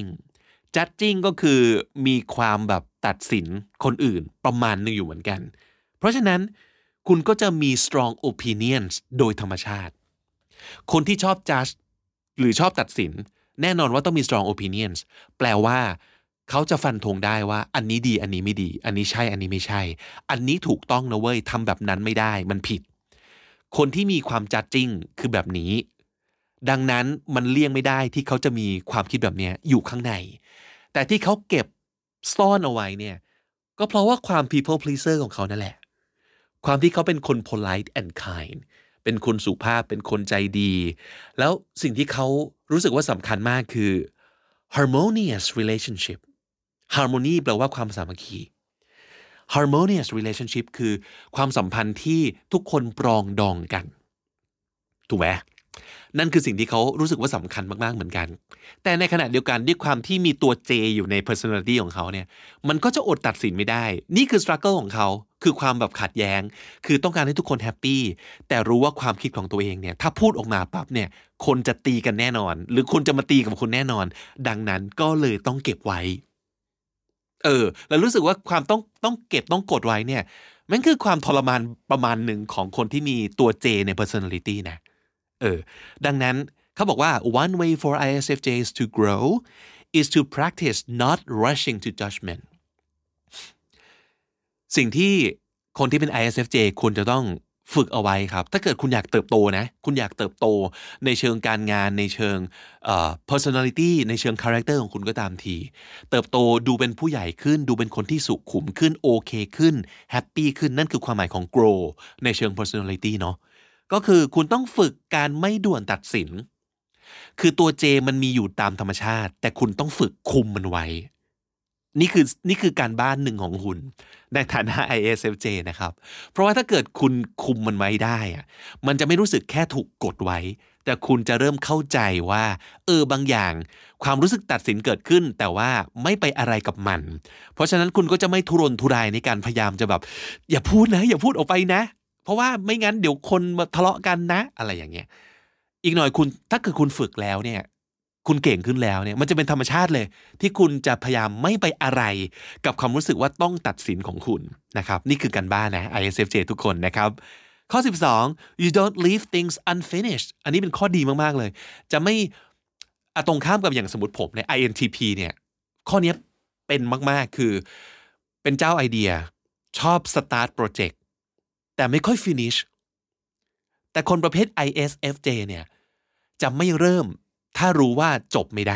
judging ก็คือมีความแบบตัดสินคนอื่นประมาณนึงอยู่เหมือนกันเพราะฉะนั้นคุณก็จะมี strong opinions โดยธรรมชาติคนที่ชอบ judge หรือชอบตัดสินแน่นอนว่าต้องมี strong opinions แปลว่าเขาจะฟันธงได้ว่าอันนี้ดีอันนี้ไม่ดีอันนี้ใช่อันนี้ไม่ใช่อันนี้ถูกต้องนะเว้ยทำแบบนั้นไม่ได้มันผิดคนที่มีความ judging คือแบบนี้ดังนั้นมันเลี่ยงไม่ได้ที่เขาจะมีความคิดแบบนี้อยู่ข้างในแต่ที่เขาเก็บซ่อนเอาไว้เนี่ยก็เพราะว่าความ people pleaser ของเขานั่นแหละความที่เขาเป็นคน polite and kind เป็นคนสุภาพเป็นคนใจดีแล้วสิ่งที่เขารู้สึกว่าสำคัญมากคือ harmonious relationship harmony แปลว่าความสามัคคี harmonious relationship คือความสัมพันธ์ที่ทุกคนปรองดองกันถูกไหมนั่นคือสิ่งที่เขารู้สึกว่าสำคัญมากๆเหมือนกันแต่ในขณะเดียวกันด้วยความที่มีตัว J อยู่ใน personality ของเขาเนี่ยมันก็จะอดตัดสินไม่ได้นี่คือ struggle ของเขาคือความแบบขัดแย้งคือต้องการให้ทุกคนแฮปปี้แต่รู้ว่าความคิดของตัวเองเนี่ยถ้าพูดออกมาปั๊บเนี่ยคนจะตีกันแน่นอนหรือคนจะมาตีกับคุณแน่นอนดังนั้นก็เลยต้องเก็บไว้แล้วรู้สึกว่าความต้องเก็บต้องกดไว้เนี่ยมันคือความทรมานประมาณหนึ่งของคนที่มีตัว J ใน personality นะดังนั้นเขาบอกว่า one way for ISFJs to grow is to practice not rushing to judgment สิ่งที่คนที่เป็น ISFJ ควรจะต้องฝึกเอาไว้ครับถ้าเกิดคุณอยากเติบโตนะคุณอยากเติบโตในเชิงการงานในเชิงpersonality ในเชิง character ของคุณก็ตามทีเติบโตดูเป็นผู้ใหญ่ขึ้นดูเป็นคนที่สุขุมขึ้นโอเคขึ้นแฮปปี้ขึ้นนั่นคือความหมายของ grow ในเชิง personality เนาะก็คือคุณต้องฝึกการไม่ด่วนตัดสินคือตัว J มันมีอยู่ตามธรรมชาติแต่คุณต้องฝึกคุมมันไว้นี่คือการบ้านหนึ่งของคุณในฐานะ ISFJ นะครับเพราะว่าถ้าเกิดคุณคุมมันไว้ได้มันจะไม่รู้สึกแค่ถูกกดไว้แต่คุณจะเริ่มเข้าใจว่าบางอย่างความรู้สึกตัดสินเกิดขึ้นแต่ว่าไม่ไปอะไรกับมันเพราะฉะนั้นคุณก็จะไม่ทุรนทุรายในการพยายามจะแบบอย่าพูดนะอย่าพูดออกไปนะเพราะว่าไม่งั้นเดี๋ยวคนมาทะเลาะกันนะอะไรอย่างเงี้ยอีกหน่อยถ้าเกิดคุณฝึกแล้วเนี่ยคุณเก่งขึ้นแล้วเนี่ยมันจะเป็นธรรมชาติเลยที่คุณจะพยายามไม่ไปอะไรกับความรู้สึกว่าต้องตัดสินของคุณนะครับนี่คือการบ้านนะ ISFJ ทุกคนนะครับข้อ12 you don't leave things unfinished อันนี้เป็นข้อดีมากๆเลยจะไม่ตรงข้ามกับอย่างสมมติผมใน INTP เนี่ยข้อนี้เป็นมากๆคือเป็นเจ้าไอเดียชอบ start project แต่ไม่ค่อย finish แต่คนประเภท ISFJ เนี่ยจะไม่เริ่มถ้ารู้ว่าจบไม่ได้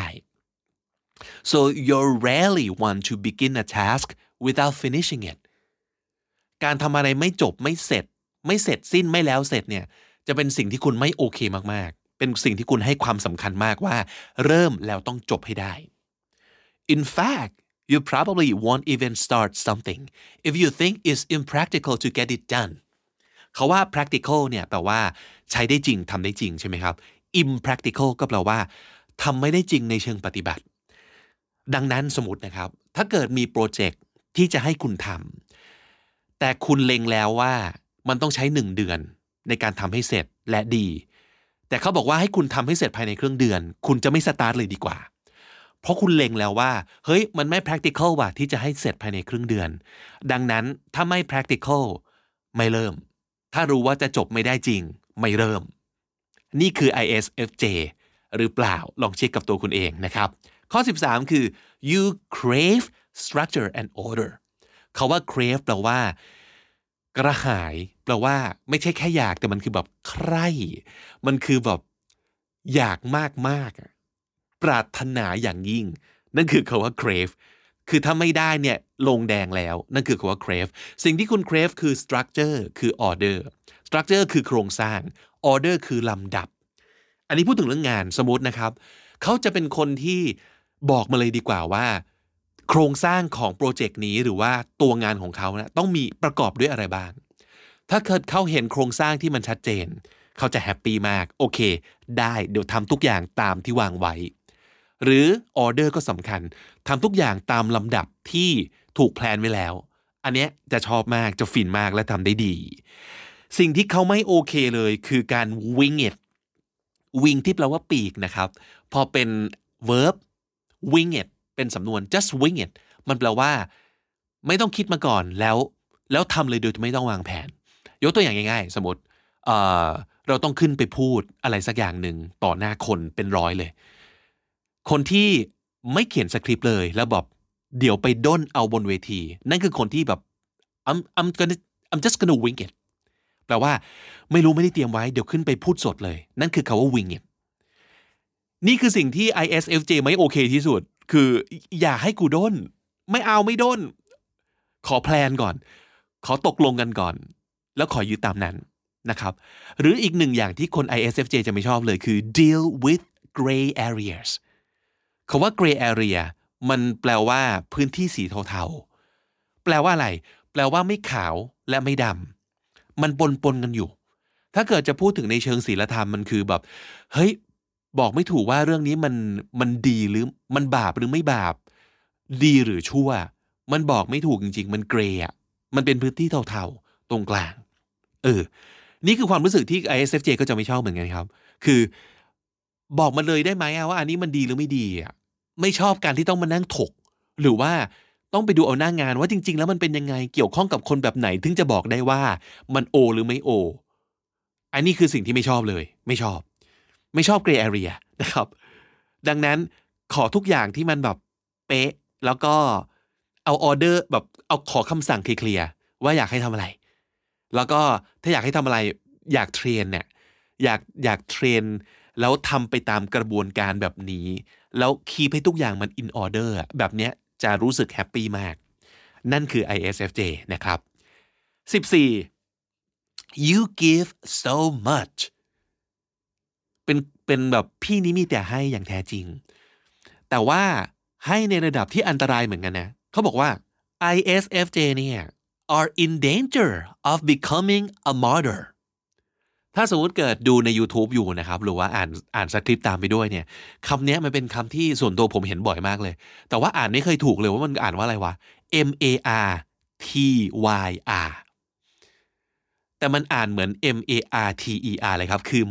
so you rarely want to begin a task without finishing it การทำอะไรไม่จบไม่เสร็จสิ้นไม่แล้วเสร็จเนี่ยจะเป็นสิ่งที่คุณไม่โอเคมากๆเป็นสิ่งที่คุณให้ความสำคัญมากว่าเริ่มแล้วต้องจบให้ได้ in fact you probably won't even start something if you think it's impractical to get it done เขาว่า practical เนี่ยแปลว่าใช้ได้จริงทำได้จริงใช่ไหมครับ impractical ก็แปลว่าทำไม่ได้จริงในเชิงปฏิบัติดังนั้นสมมตินะครับถ้าเกิดมีโปรเจกต์ที่จะให้คุณทำแต่คุณเล็งแล้วว่ามันต้องใช้1 เดือนในการทำให้เสร็จและดีแต่เขาบอกว่าให้คุณทำให้เสร็จภายในครึ่งเดือนคุณจะไม่สตาร์ทเลยดีกว่าเพราะคุณเล็งแล้วว่าเฮ้ยมันไม่ practical ว่ะที่จะให้เสร็จภายในครึ่งเดือนดังนั้นถ้าไม่ practical ไม่เริ่มถ้ารู้ว่าจะจบไม่ได้จริงไม่เริ่มนี่คือ ISFJ หรือเปล่าลองเช็คกับตัวคุณเองนะครับข้อ13คือ you crave structure and order คำว่า crave แปลว่ากระหายแปลว่าไม่ใช่แค่อยากแต่มันคือแบบใคร่มันคือแบบอยากมากๆปรารถนาอย่างยิ่งนั่นคือคำว่า crave คือถ้าไม่ได้เนี่ยลงแดงแล้วนั่นคือคำว่า crave สิ่งที่คุณ crave คือ structure คือ order structure คือโครงสร้าง order คือลำดับอันนี้พูดถึงเรื่องงานสมมตินะครับเขาจะเป็นคนที่บอกมาเลยดีกว่าว่าโครงสร้างของโปรเจกต์นี้หรือว่าตัวงานของเขานะต้องมีประกอบด้วยอะไรบ้างถ้าเกิดเขาเห็นโครงสร้างที่มันชัดเจนเขาจะแฮปปี้มากโอเคได้เดี๋ยวทำทุกอย่างตามที่วางไว้หรือออเดอร์ก็สำคัญทำทุกอย่างตามลำดับที่ถูกแพลนไว้แล้วอันเนี้ยจะชอบมากจะฟินมากและทำได้ดีสิ่งที่เขาไม่โอเคเลยคือการ wing it wing ที่แปลว่าปีกนะครับพอเป็น verb wing it เป็นสำนวน just wing it มันแปลว่าไม่ต้องคิดมาก่อนแล้วทำเลยโดยไม่ต้องวางแผนยกตัวอย่างง่ายๆสมมติเราต้องขึ้นไปพูดอะไรสักอย่างหนึ่งต่อหน้าคนเป็นร้อยเลยคนที่ไม่เขียนสคริปต์เลยแล้วบอกเดี๋ยวไปด้นเอาบนเวทีนั่นคือคนที่แบบ I'm just gonna wing it แปลว่าไม่รู้ไม่ได้เตรียมไว้เดี๋ยวขึ้นไปพูดสดเลยนั่นคือคำว่า wing it นี่คือสิ่งที่ ISFJ ไม่โอเคที่สุดคืออย่าให้กูด้นไม่เอาไม่ด้นขอแพลนก่อนขอตกลงกันก่อนแล้วขอยึดตามนั้นนะครับหรืออีกหนึ่งอย่างที่คน ISFJ จะไม่ชอบเลยคือ deal with gray areas คำว่า gray area มันแปลว่าพื้นที่สีเทาๆแปลว่าอะไรแปลว่าไม่ขาวและไม่ดำมันปนกันอยู่ถ้าเกิดจะพูดถึงในเชิงศีลธรรมมันคือแบบเฮ้ยบอกไม่ถูกว่าเรื่องนี้มันดีหรือมันบาปหรือไม่บาปดีหรือชั่วมันบอกไม่ถูกจริงๆมันเกรย์อ่ะมันเป็นพื้นที่เทาๆตรงกลางนี่คือความรู้สึกที่ ISFJ ก็จะไม่ชอบเหมือนกันครับคือบอกมาเลยได้ไหมว่าอันนี้มันดีหรือไม่ดีอ่ะไม่ชอบการที่ต้องมานั่งถกหรือว่าต้องไปดูเอาหน้างานว่าจริงๆแล้วมันเป็นยังไงเกี่ยวข้องกับคนแบบไหนถึงจะบอกได้ว่ามันโอหรือไม่โออันนี้คือสิ่งที่ไม่ชอบเลยไม่ชอบเกรย์แอเรียนะครับดังนั้นขอทุกอย่างที่มันแบบเป๊ะแล้วก็เอาออเดอร์แบบเอาขอคำสั่งเคลียร์ว่าอยากให้ทำอะไรแล้วก็ถ้าอยากให้ทำอะไรอยากเทรนเนี่ยอยากเทรนแล้วทำไปตามกระบวนการแบบนี้แล้วคีปให้ทุกอย่างมัน in order แบบเนี้ยจะรู้สึกแฮปปี้มากนั่นคือ ISFJ นะครับ14 you give so much เป็นแบบพี่นี้มีแต่ให้อย่างแท้จริงแต่ว่าให้ในระดับที่อันตรายเหมือนกันนะเขาบอกว่า ISFJ เนี่ย are in danger of becoming a martyr ถ้าสมมติเกิดดูใน YouTube อยู่นะครับหรือว่าอ่านสคริปต์ตามไปด้วยเนี่ยคำนี้มันเป็นคำที่ส่วนตัวผมเห็นบ่อยมากเลยแต่ว่าอ่านไม่เคยถูกเลยว่ามันอ่านว่าอะไรวะ MARTYR แต่มันอ่านเหมือน MARTER เลยครับคือ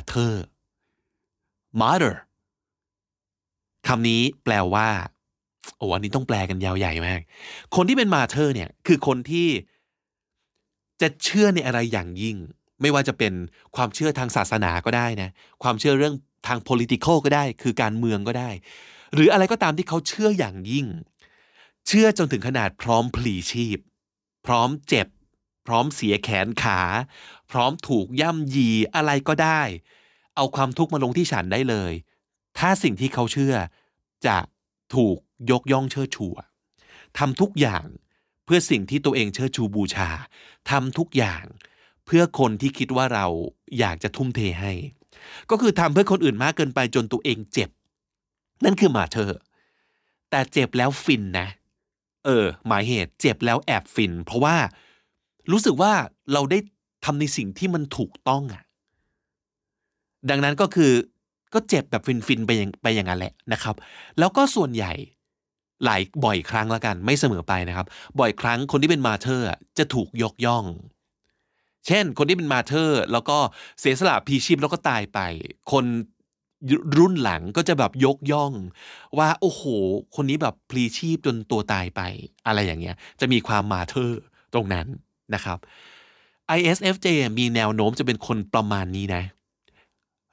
martyr คำนี้แปลว่าอันนี้ต้องแปลกันยาวใหญ่มากคนที่เป็น martyr เนี่ยคือคนที่จะเชื่อในอะไรอย่างยิ่งไม่ว่าจะเป็นความเชื่อทางศาสนาก็ได้นะความเชื่อเรื่องทาง political ก็ได้คือการเมืองก็ได้หรืออะไรก็ตามที่เขาเชื่ออย่างยิ่งเชื่อจนถึงขนาดพร้อมพลีชีพพร้อมเจ็บพร้อมเสียแขนขาพร้อมถูกย่ำยีอะไรก็ได้เอาความทุกข์มาลงที่ฉันได้เลยถ้าสิ่งที่เขาเชื่อจะถูกยกย่องเชิดชูทำทุกอย่างเพื่อสิ่งที่ตัวเองเชิดชูบูชาทำทุกอย่างเพื่อคนที่คิดว่าเราอยากจะทุ่มเทให้ก็คือทำเพื่อคนอื่นมากเกินไปจนตัวเองเจ็บนั่นคือมาเธอแต่เจ็บแล้วฟินนะหมายเหตุเจ็บแล้วแอบฟินเพราะว่ารู้สึกว่าเราได้ทำในสิ่งที่มันถูกต้องดังนั้นก็คือก็เจ็บแบบฟินไปอย่างนั้นแหละนะครับแล้วก็ส่วนใหญ่บ่อยครั้งแล้วกันไม่เสมอไปนะครับบ่อยครั้งคนที่เป็นมาเธอร์จะถูกยกย่องเช่นคนที่เป็นมาเธอร์แล้วก็เสียสละพลีชีพแล้วก็ตายไปคนรุ่นหลังก็จะแบบยกย่องว่าโอ้โหคนนี้แบบพลีชีพจนตัวตายไปอะไรอย่างเงี้ยจะมีความมาเธอร์ตรงนั้นนะครับ ISFJ มีแนวโน้มจะเป็นคนประมาณนี้นะ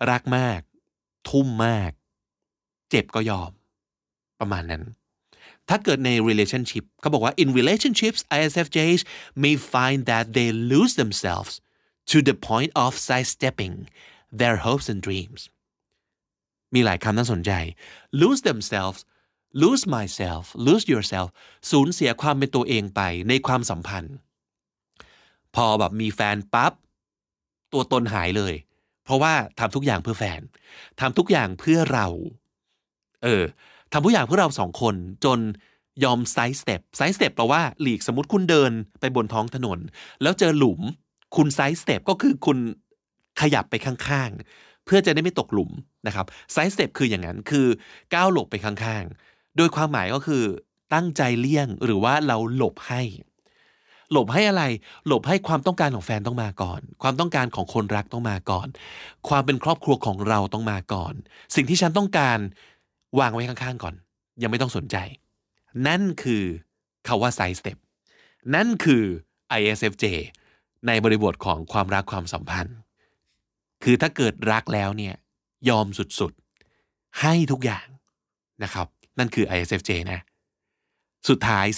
รักมากทุ่มมากเจ็บก็ยอมประมาณนั้นถ้าเกิดใน relationship เขาบอกว่า in relationships ISFJs may find that they lose themselves to the point of sidestepping their hopes and dreams มีหลายคำน่าสนใจ lose themselves lose myself lose yourself สูญเสียความเป็นตัวเองไปในความสัมพันธ์พอแบบมีแฟนปั๊บตัวตนหายเลยเพราะว่าทำทุกอย่างเพื่อแฟนทำทุกอย่างเพื่อเราทำทุกอย่างเพื่อเราสองคนจนยอมไซด์สเต็ปแปลว่าหลีกสมมติคุณเดินไปบนท้องถนนแล้วเจอหลุมคุณไซด์สเต็ปก็คือคุณขยับไปข้างๆเพื่อจะได้ไม่ตกหลุมนะครับไซด์สเต็ปคืออย่างนั้นคือก้าวหลบไปข้างๆโดยความหมายก็คือตั้งใจเลี่ยงหรือว่าเราหลบให้อะไรหลบให้ความต้องการของแฟนต้องมาก่อนความต้องการของคนรักต้องมาก่อนความเป็นครอบครัวของเราต้องมาก่อนสิ่งที่ฉันต้องการวางไว้ข้างๆก่อนยังไม่ต้องสนใจนั่นคือคำว่า side step นั่นคือ ISFJ ในบริบทของความรักความสัมพันธ์คือถ้าเกิดรักแล้วเนี่ยยอมสุดๆให้ทุกอย่างนะครับนั่นคือ ISFJ นะสุดท้าย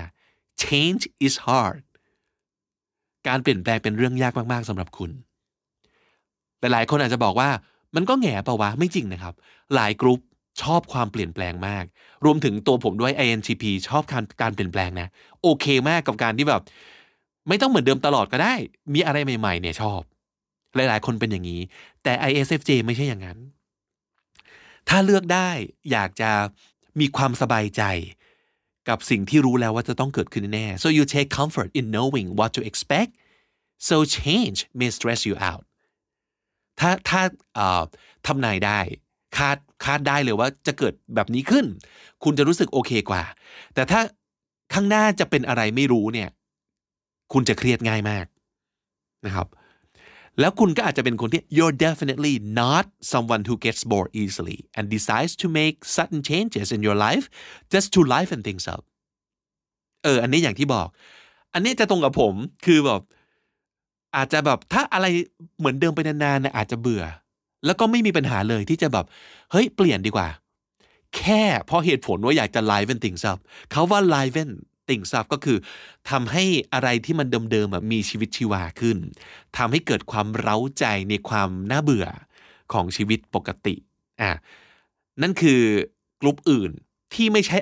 15 change is hard การเปลี่ยนแปลงเป็นเรื่องยากมากๆสำหรับคุณหลายๆคนอาจจะบอกว่ามันก็แง่เปล่าวะไม่จริงนะครับหลายกรุ๊ปชอบความเปลี่ยนแปลงมากรวมถึงตัวผมด้วย INTP ชอบการเปลี่ยนแปลงนะโอเคมากกับการที่แบบไม่ต้องเหมือนเดิมตลอดก็ได้มีอะไรใหม่ๆเนี่ยชอบหลายๆคนเป็นอย่างนี้แต่ ISFJ ไม่ใช่อย่างนั้นถ้าเลือกได้อยากจะมีความสบายใจกับสิ่งที่รู้แล้วว่าจะต้องเกิดขึ้นแน่ so you take comfort in knowing what to expect so change may stress you out ถ้าทำนายได้คาดได้เลยว่าจะเกิดแบบนี้ขึ้นคุณจะรู้สึกโอเคกว่าแต่ถ้าข้างหน้าจะเป็นอะไรไม่รู้เนี่ยคุณจะเครียดง่ายมากนะครับแล้วคุณก็อาจจะเป็นคนที่ you're definitely not someone who gets bored easily and decides to make sudden changes in your life just to liven things up อันนี้อย่างที่บอกอันนี้จะตรงกับผมคือแบบอาจจะแบบถ้าอะไรเหมือนเดิมไปนานๆนะอาจจะเบื่อแล้วก็ไม่มีปัญหาเลยที่จะแบบเฮ้ยเปลี่ยนดีกว่าแค่เพราะเหตุผลว่าอยากจะ liven things up เขาว่า liven things up ก็คือทำให้อะไรที่มันเดิมๆมีชีวิตชีวาขึ้นทำให้เกิดความเร้าใจในความน่าเบื่อของชีวิตปกตินั่นคือกลุ่มอื่นที่ไม่ใช่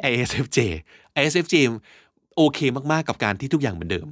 ISFJ โอเคมากๆกับการที่ทุกอย่างเหมือนเดิม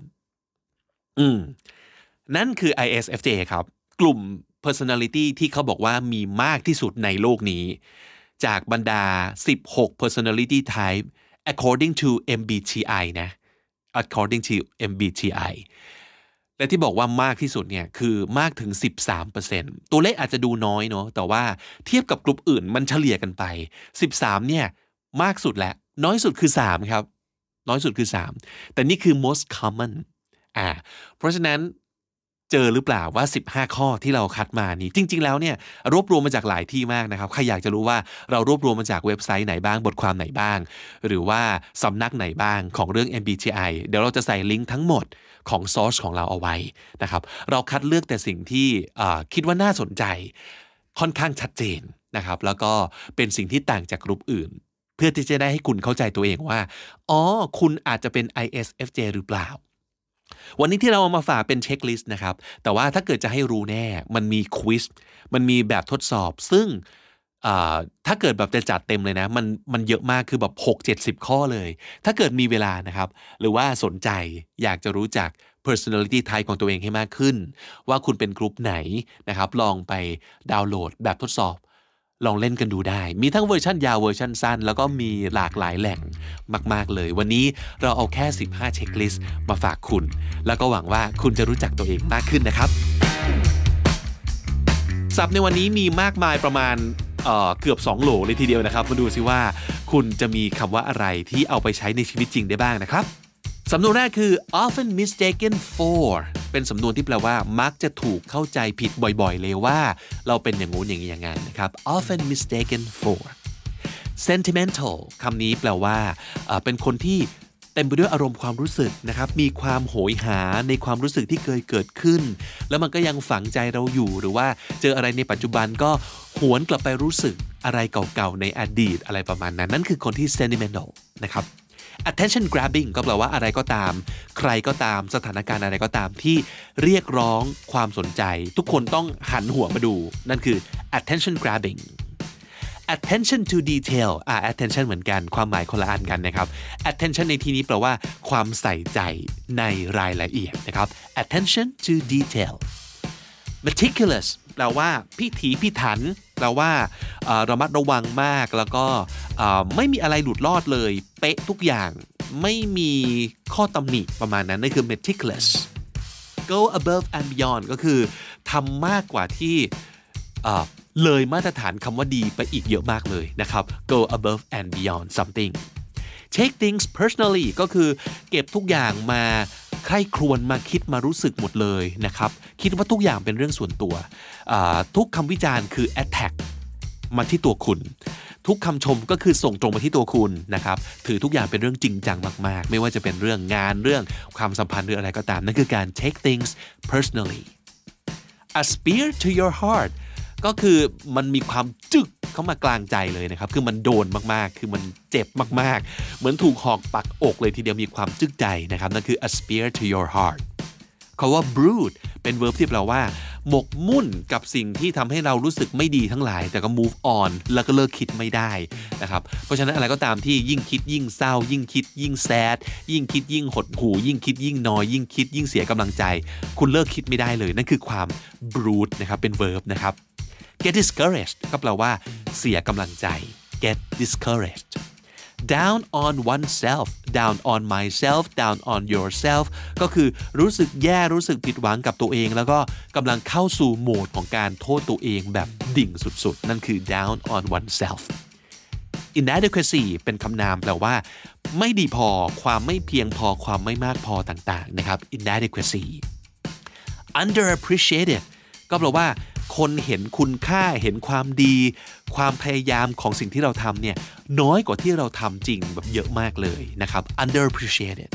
นั่นคือ ISFJ ครับกลุ่มpersonality ที่เขาบอกว่ามีมากที่สุดในโลกนี้จากบรรดา16 personality type according to MBTI นะ according to MBTI และที่บอกว่ามากที่สุดเนี่ยคือมากถึง 13% ตัวเลขอาจจะดูน้อยเนาะแต่ว่าเทียบกับกลุ่มอื่นมันเฉลี่ยกันไป13เนี่ยมากสุดและน้อยสุดคือ3ครับน้อยสุดคือ3แต่นี่คือ most common เพราะฉะนั้นเจอหรือเปล่าว่า15ข้อที่เราคัดมานี้จริงๆแล้วเนี่ยรวบรวมมาจากหลายที่มากนะครับใครอยากจะรู้ว่าเรารวบรวมมาจากเว็บไซต์ไหนบ้างบทความไหนบ้างหรือว่าสำนักไหนบ้างของเรื่อง MBTI เดี๋ยวเราจะใส่ลิงก์ทั้งหมดของซอร์สของเราเอาไว้นะครับเราคัดเลือกแต่สิ่งที่คิดว่าน่าสนใจค่อนข้างชัดเจนนะครับแล้วก็เป็นสิ่งที่ต่างจากกลุ่มอื่นเพื่อที่จะได้ให้คุณเข้าใจตัวเองว่าคุณอาจจะเป็น ISFJ หรือเปล่าวันนี้ที่เราเอามาฝากเป็นเช็คลิสต์นะครับแต่ว่าถ้าเกิดจะให้รู้แน่มันมีควิซมันมีแบบทดสอบซึ่งถ้าเกิดแบบจะจัดเต็มเลยนะมันเยอะมากคือแบบ 6-70 ข้อเลยถ้าเกิดมีเวลานะครับหรือว่าสนใจอยากจะรู้จัก personality type ของตัวเองให้มากขึ้นว่าคุณเป็นกลุ่มไหนนะครับลองไปดาวน์โหลดแบบทดสอบลองเล่นกันดูได้มีทั้งเวอร์ชันยาวเวอร์ชันสั้นแล้วก็มีหลากหลายแหล่งมากๆเลยวันนี้เราเอาแค่15เช็คลิสต์มาฝากคุณแล้วก็หวังว่าคุณจะรู้จักตัวเองมากขึ้นนะครับศัพท์ในวันนี้มีมากมายประมาณเกือบ2โหลเลยทีเดียวนะครับมาดูซิว่าคุณจะมีคำว่าอะไรที่เอาไปใช้ในชีวิตจริงได้บ้างนะครับสำนวนแรกคือ often mistaken for เป็นสำนวนที่แปลว่ามักจะถูกเข้าใจผิดบ่อยๆเลยว่าเราเป็นอย่างงู้นอย่างนี้อย่างนั้นนะครับ often mistaken for sentimental คำนี้แปลว่าเป็นคนที่เต็มไปด้วยอารมณ์ความรู้สึกนะครับมีความโหยหาในความรู้สึกที่เคยเกิดขึ้นแล้วมันก็ยังฝังใจเราอยู่หรือว่าเจออะไรในปัจจุบันก็หวนกลับไปรู้สึกอะไรเก่าๆในอดีตอะไรประมาณนั้นนั่นคือคนที่ sentimental นะครับ attention grabbing ก็แปลว่าอะไรก็ตามใครก็ตามสถานการณ์อะไรก็ตามที่เรียกร้องความสนใจทุกคนต้องหันหัวมาดูนั่นคือ attention grabbing attention to detail attention เหมือนกันความหมายคนละอันกันนะครับ attention ในที่นี้แปลว่าความใส่ใจในรายละเอียดนะครับ attention to detail meticulous แปลว่าพิถีพิถันแปลว่าระมัดระวังมากแล้วก็ไม่มีอะไรหลุดรอดเลยเป๊ะทุกอย่างไม่มีข้อตำหนิประมาณนั้นนั่นคือ meticulous go above and beyond ก็คือทำมากกว่าที่เลยมาตรฐานคำว่าดีไปอีกเยอะมากเลยนะครับ go above and beyond something take things personally ก็คือเก็บทุกอย่างมาใคร่ครวญมาคิดมารู้สึกหมดเลยนะครับคิดว่าทุกอย่างเป็นเรื่องส่วนตัวทุกคำวิจารณ์คือ attack มาที่ตัวคุณทุกคำชมก็คือส่งตรงมาที่ตัวคุณนะครับถือทุกอย่างเป็นเรื่องจริงจังมากๆไม่ว่าจะเป็นเรื่องงานเรื่องความสัมพันธ์หรืออะไรก็ตามนั่นคือการ take things personally a spear to your heart ก็คือมันมีความจึกเข้ามากลางใจเลยนะครับคือมันโดนมากๆคือมันเจ็บมากๆเหมือนถูกหอกปักอกเลยทีเดียวมีความจึกใจนะครับนั่นคือ a spear to your heart คำว่า brood เป็น verb ที่แปลว่าหมกมุ่นกับสิ่งที่ทำให้เรารู้สึกไม่ดีทั้งหลายแต่ก็ move on แล้วก็เลิกคิดไม่ได้นะครับเพราะฉะนั้นอะไรก็ตามที่ยิ่งคิดยิ่งเศร้ายิ่งคิดยิ่ง sad ยิ่งคิดยิ่งหดหู่ยิ่งคิดยิ่งนอยยิ่งคิดยิ่งเสียกำลังใจคุณเลิกคิดไม่ได้เลยนั่นคือความ brood นะครับเป็น verb นะครับ get discouraged ก็แปลว่าเสียกำลังใจ get discouraged down on oneself down on myself down on yourself ก็คือรู้สึกแย่รู้สึกผิดหวังกับตัวเองแล้วก็กำลังเข้าสู่โหมดของการโทษตัวเองแบบดิ่งสุดๆนั่นคือ down on oneself inadequacy เป็นคำนามแปลว่าไม่ดีพอความไม่เพียงพอความไม่มากพอต่างๆนะครับ inadequacy underappreciated ก็แปลว่าคนเห็นคุณค่าเห็นความดีความพยายามของสิ่งที่เราทำเนี่ยน้อยกว่าที่เราทำจริงแบบเยอะมากเลยนะครับ underappreciated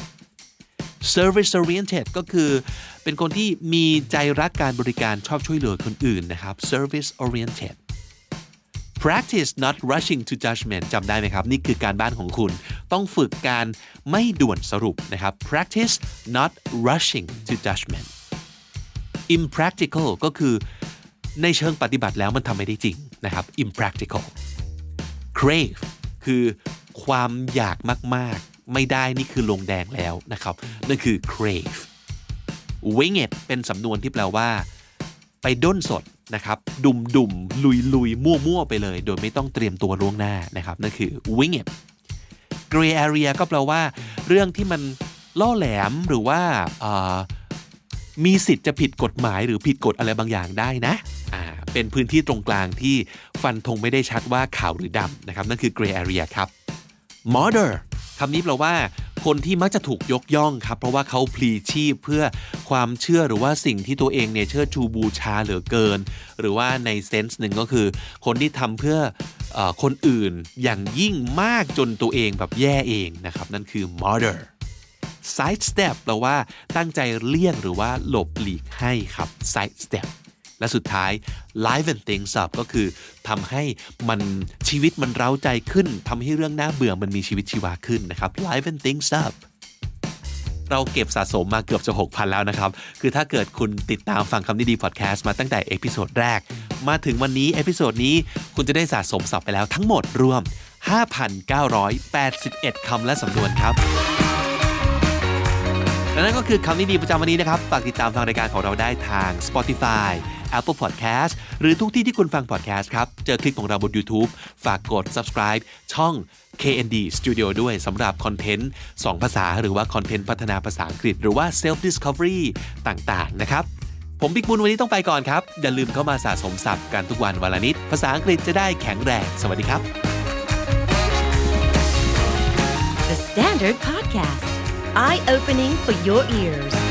service oriented ก็คือเป็นคนที่มีใจรักการบริการชอบช่วยเหลือคนอื่นนะครับ service oriented practice not rushing to judgment จำได้ไหมครับนี่คือการบ้านของคุณต้องฝึกการไม่ด่วนสรุปนะครับ practice not rushing to judgment impractical ก็คือในเชิงปฏิบัติแล้วมันทำไม่ได้จริงนะครับ impractical crave คือความอยากมากๆไม่ได้นี่คือลงแดงแล้วนะครับนั่นคือ crave wing it เป็นสำนวนที่แปลว่าไปด้นสดนะครับดุมๆลุยๆมั่วๆไปเลยโดยไม่ต้องเตรียมตัวล่วงหน้านะครับนั่นคือ wing it gray area ก็แปลว่าเรื่องที่มันล่อแหลมหรือว่ามีสิทธิ์จะผิดกฎหมายหรือผิดกฎอะไรบางอย่างได้นะเป็นพื้นที่ตรงกลางที่ฟันธงไม่ได้ชัดว่าขาวหรือดำนะครับนั่นคือ gray area ครับ martyr คำนี้แปลว่าคนที่มักจะถูกยกย่องครับเพราะว่าเขาพลีชีพเพื่อความเชื่อหรือว่าสิ่งที่ตัวเองเนี่ยเชิดชูบูชาเหลือเกินหรือว่าในเซนส์หนึ่งก็คือคนที่ทำเพื่อคนอื่นอย่างยิ่งมากจนตัวเองแบบแย่เองนะครับนั่นคือ martyr side step แปลว่าตั้งใจเลี่ยงหรือว่าหลบหลีกให้ครับ side step และสุดท้าย liven things up ก็คือทำให้มันชีวิตมันเร้าใจขึ้นทำให้เรื่องน่าเบื่อมันมีชีวิตชีวาขึ้นนะครับ liven things up เราเก็บสะสมมาเกือบจะ 6,000 แล้วนะครับคือถ้าเกิดคุณติดตามฟังคำนี้ดีพอดแคสต์มาตั้งแต่เอพิโซดแรกมาถึงวันนี้เอพิโซดนี้คุณจะได้สะสมศัพท์ไปแล้วทั้งหมดรวม 5,981 คำและสำนวนครับและนั่นก็คือคำนี้ดีประจำวันนี้นะครับฝากติดตามฟังรายการของเราได้ทาง Spotify Apple Podcast หรือทุกที่ที่คุณฟัง podcast ครับเจอคลิปของเราบน YouTube ฝากกด subscribe ช่อง KND Studio ด้วยสำหรับคอนเทนต์2ภาษาหรือว่าคอนเทนต์พัฒนาภาษาอังกฤษหรือว่า self discovery ต่างๆนะครับผมบิ๊กบุญวันนี้ต้องไปก่อนครับอย่าลืมเข้ามาสะสมศัพท์กันทุกวันวันละนิดภาษาอังกฤษจะได้แข็งแรงสวัสดีครับ The Standard Podcast Eye Opening for Your Ears